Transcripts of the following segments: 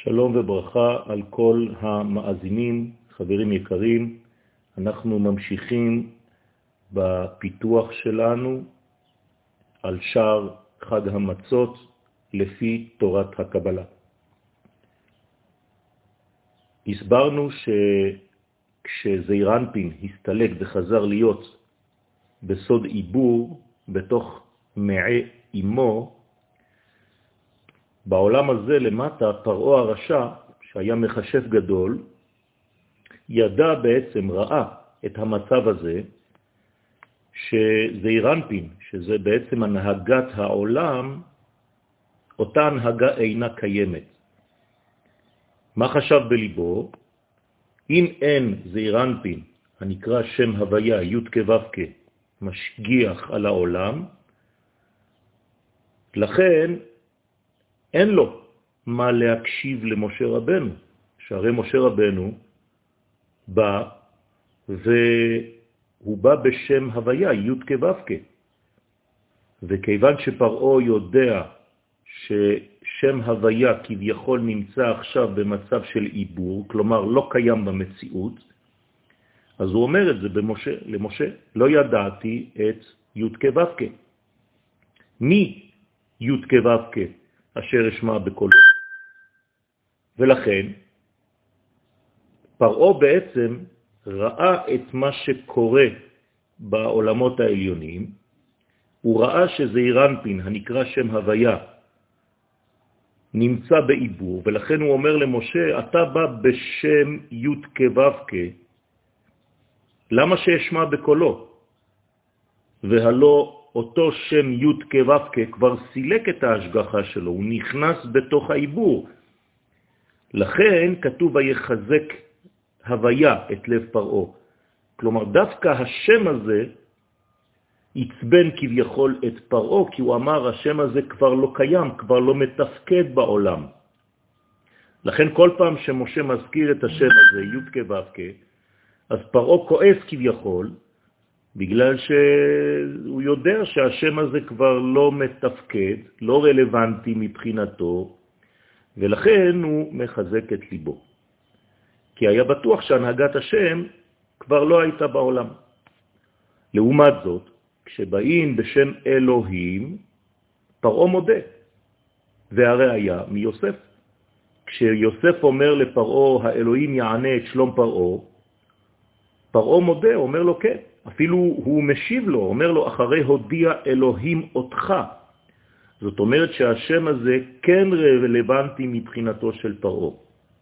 שלום וברכה על כל המאזינים, חברים יקרים. אנחנו ממשיכים בפיתוח שלנו על שער חג המצות לפי תורת הקבלה. הסברנו שכשזעיר אנפין הסתלק וחזר להיות בסוד עיבור בתוך מעי אמו, בעולם הזה למטה פרעה הרשע, שהיה מחשב גדול, ידע בעצם, ראה את המצב הזה, שזעיר אנפין, שזה בעצם הנהגת העולם, אותה הנהגה אינה קיימת. מה חשב בליבו? אם אין זעיר אנפין, הנקרא שם הוויה, י' כו' משגיח על העולם, לכן אין לו מה להקשיב למשה רבנו, שהרי משה רבנו בא והוא בא בשם הוויה, י' כו' וכיוון שפרעה יודע ששם הוויה כביכול נמצא עכשיו במצב של עיבור, כלומר לא קיים במציאות, אז הוא אומר את זה למשה, לא ידעתי את י' כו' מי י' כו' אשר אשמע בקולו. ולכן פרעה בעצם ראה את מה שקורה בעולמות העליונים, הוא ראה שזעיר אנפין, הנקרא שם הוויה, נמצא בעיבור, ולכן הוא אומר למשה, אתה בא בשם י' כו' למה שאשמע בקולו? והלא אותו שם י' כו' כבר סילק את ההשגחה שלו, הוא נכנס בתוך העיבור. לכן כתוב ויחזק הוויה את לב פרעה. כלומר דווקא השם הזה יצבן כביכול את פרעה, כי הוא אמר השם הזה כבר לא קיים, כבר לא מתפקד בעולם. לכן כל פעם שמשה מזכיר את השם הזה, י' כו' אז פרעה כועס כביכול, בגלל שהוא יודע שהשם הזה כבר לא מתפקד, לא רלוונטי מבחינתו, ולכן הוא מחזק את ליבו. כי היה בטוח שהנהגת השם כבר לא הייתה בעולם. לעומת זאת, כשבאים בשם אלוהים, פרעה מודה, והרי היה מיוסף. כשיוסף אומר לפרעה, האלוהים יענה את שלום פרעה, פרעה מודה, אומר לו כן. אפילו הוא משיב לו, אומר לו, אחרי הודיע אלוהים אותך. זאת אומרת שהשם הזה כן רלוונטי מבחינתו של פרעה.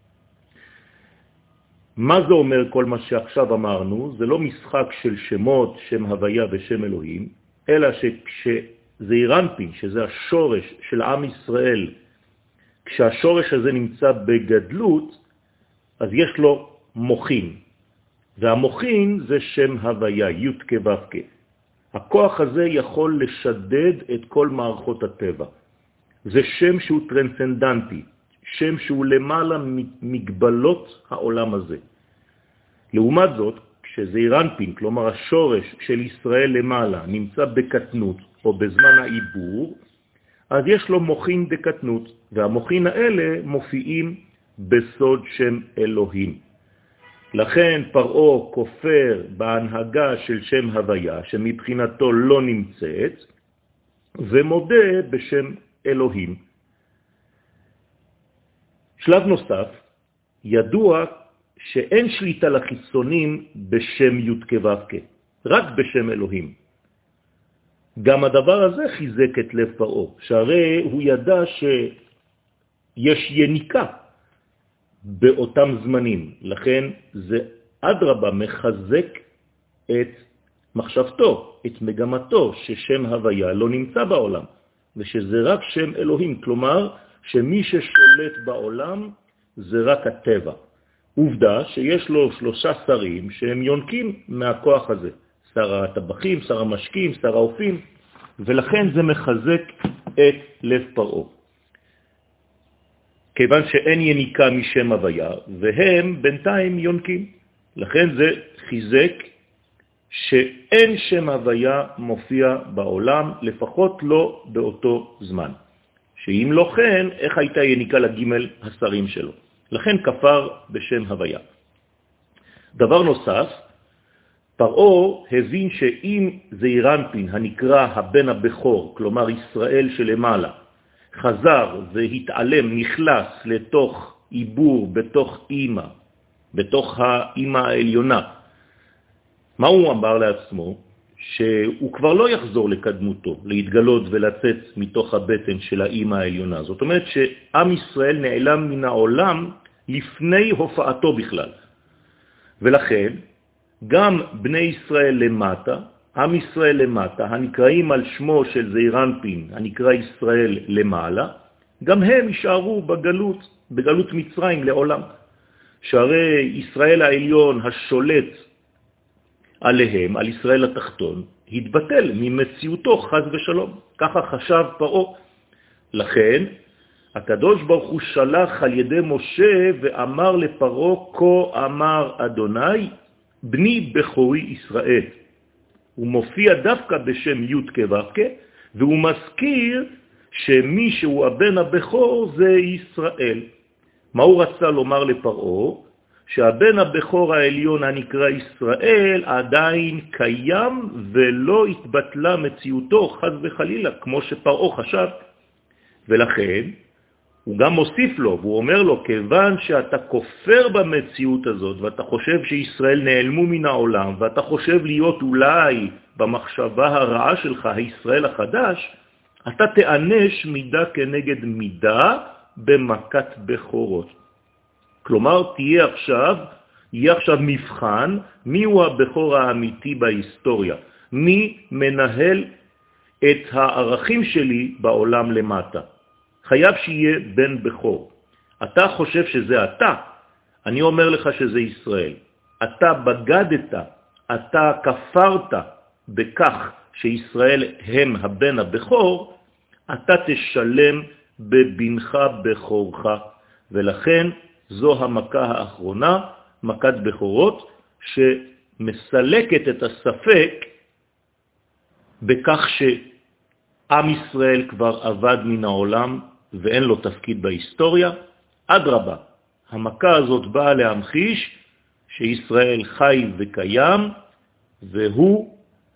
מה זה אומר כל מה שעכשיו אמרנו? זה לא משחק של שמות, שם הוויה ושם אלוהים, אלא שכשזעיר אנפין, שזה השורש של עם ישראל, כשהשורש הזה נמצא בגדלות, אז יש לו מוחין. והמוחין זה שם הוויה, י' כו' הכוח הזה יכול לשדד את כל מערכות הטבע. זה שם שהוא טרנסנדנטי, שם שהוא למעלה מגבלות העולם הזה. לעומת זאת, כשזעיר אנפין, כלומר השורש של ישראל למעלה, נמצא בקטנות או בזמן העיבור, אז יש לו מוחין דקטנות, והמוחין האלה מופיעים בסוד שם אלוהים. לכן פרעה כופר בהנהגה של שם הוויה, שמבחינתו לא נמצאת, ומודה בשם אלוהים. שלב נוסף, ידוע שאין שליטה לחיצונים בשם י' כו' רק בשם אלוהים. גם הדבר הזה חיזק את לב פרעה, שהרי הוא ידע שיש יניקה באותם זמנים, לכן זה אדרבה מחזק את מחשבתו, את מגמתו, ששם הוויה לא נמצא בעולם, ושזה רק שם אלוהים, כלומר שמי ששולט בעולם זה רק הטבע. עובדה שיש לו 3 שרים שהם יונקים מהכוח הזה, שר הטבחים, שר המשקים, שר האופים, ולכן זה מחזק את לב פרעה. כיוון שאין יניקה משם הוויה, והם בינתיים יונקים. לכן זה חיזק שאין שם הוויה מופיע בעולם, לפחות לא באותו זמן. שאם לא כן, איך הייתה יניקה לג' השרים שלו. לכן כפר בשם הוויה. דבר נוסף, פרעה הבין שאם זעירנפין הנקרא הבן הבכור, כלומר ישראל שלמעלה, חזר והתעלם, נכנס לתוך עיבור בתוך אמא, בתוך האמא העליונה, מה הוא אמר לעצמו? שהוא כבר לא יחזור לקדמותו, להתגלות ולצאת מתוך הבטן של האמא העליונה. זאת אומרת שעם ישראל נעלם מן העולם לפני הופעתו בכלל. ולכן גם בני ישראל למטה, עם ישראל למטה, הנקראים על שמו של זעירנפין, הנקרא ישראל למעלה, גם הם יישארו בגלות מצרים לעולם. שהרי ישראל העליון השולט עליהם, על ישראל התחתון, התבטל ממציאותו חז ושלום. ככה חשב פרעה. לכן, הקדוש ברוך הוא שלח על ידי משה ואמר לפרעה, כה אמר אדוני, בני בכורי ישראל. הוא מופיע דווקא בשם י' כו', והוא מזכיר שמי שהוא הבן הבכור זה ישראל. מה הוא רצה לומר לפרעה? שהבן הבכור העליון הנקרא ישראל עדיין קיים ולא התבטלה מציאותו חז וחלילה, כמו שפרעה חשב. ולכן הוא גם מוסיף לו, והוא אומר לו, כיוון שאתה כופר במציאות הזאת, ואתה חושב שישראל נעלמו מן העולם, ואתה חושב להיות אולי במחשבה הרעה שלך, הישראל החדש, אתה תענש מידה כנגד מידה במכת בכורות. כלומר, יהיה עכשיו מבחן מי הוא הבכור האמיתי בהיסטוריה, מי מנהל את הערכים שלי בעולם למטה. חייב שיהיה בן בכור. אתה חושב שזה אתה, אני אומר לך שזה ישראל. אתה בגדת, אתה כפרת בכך שישראל הם הבן הבכור, אתה תשלם בבנך בכורך. ולכן זו המכה האחרונה, מכת בכורות, שמסלקת את הספק בכך שעם ישראל כבר עבד מן העולם ואין לו תפקיד בהיסטוריה. אדרבה, המכה הזאת באה להמחיש שישראל חי וקיים, והוא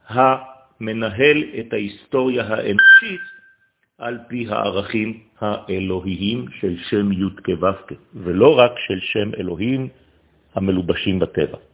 המנהל את ההיסטוריה האנושית על פי הערכים האלוהיים של שם י' כו', ולא רק של שם אלוהים המלובשים בטבע.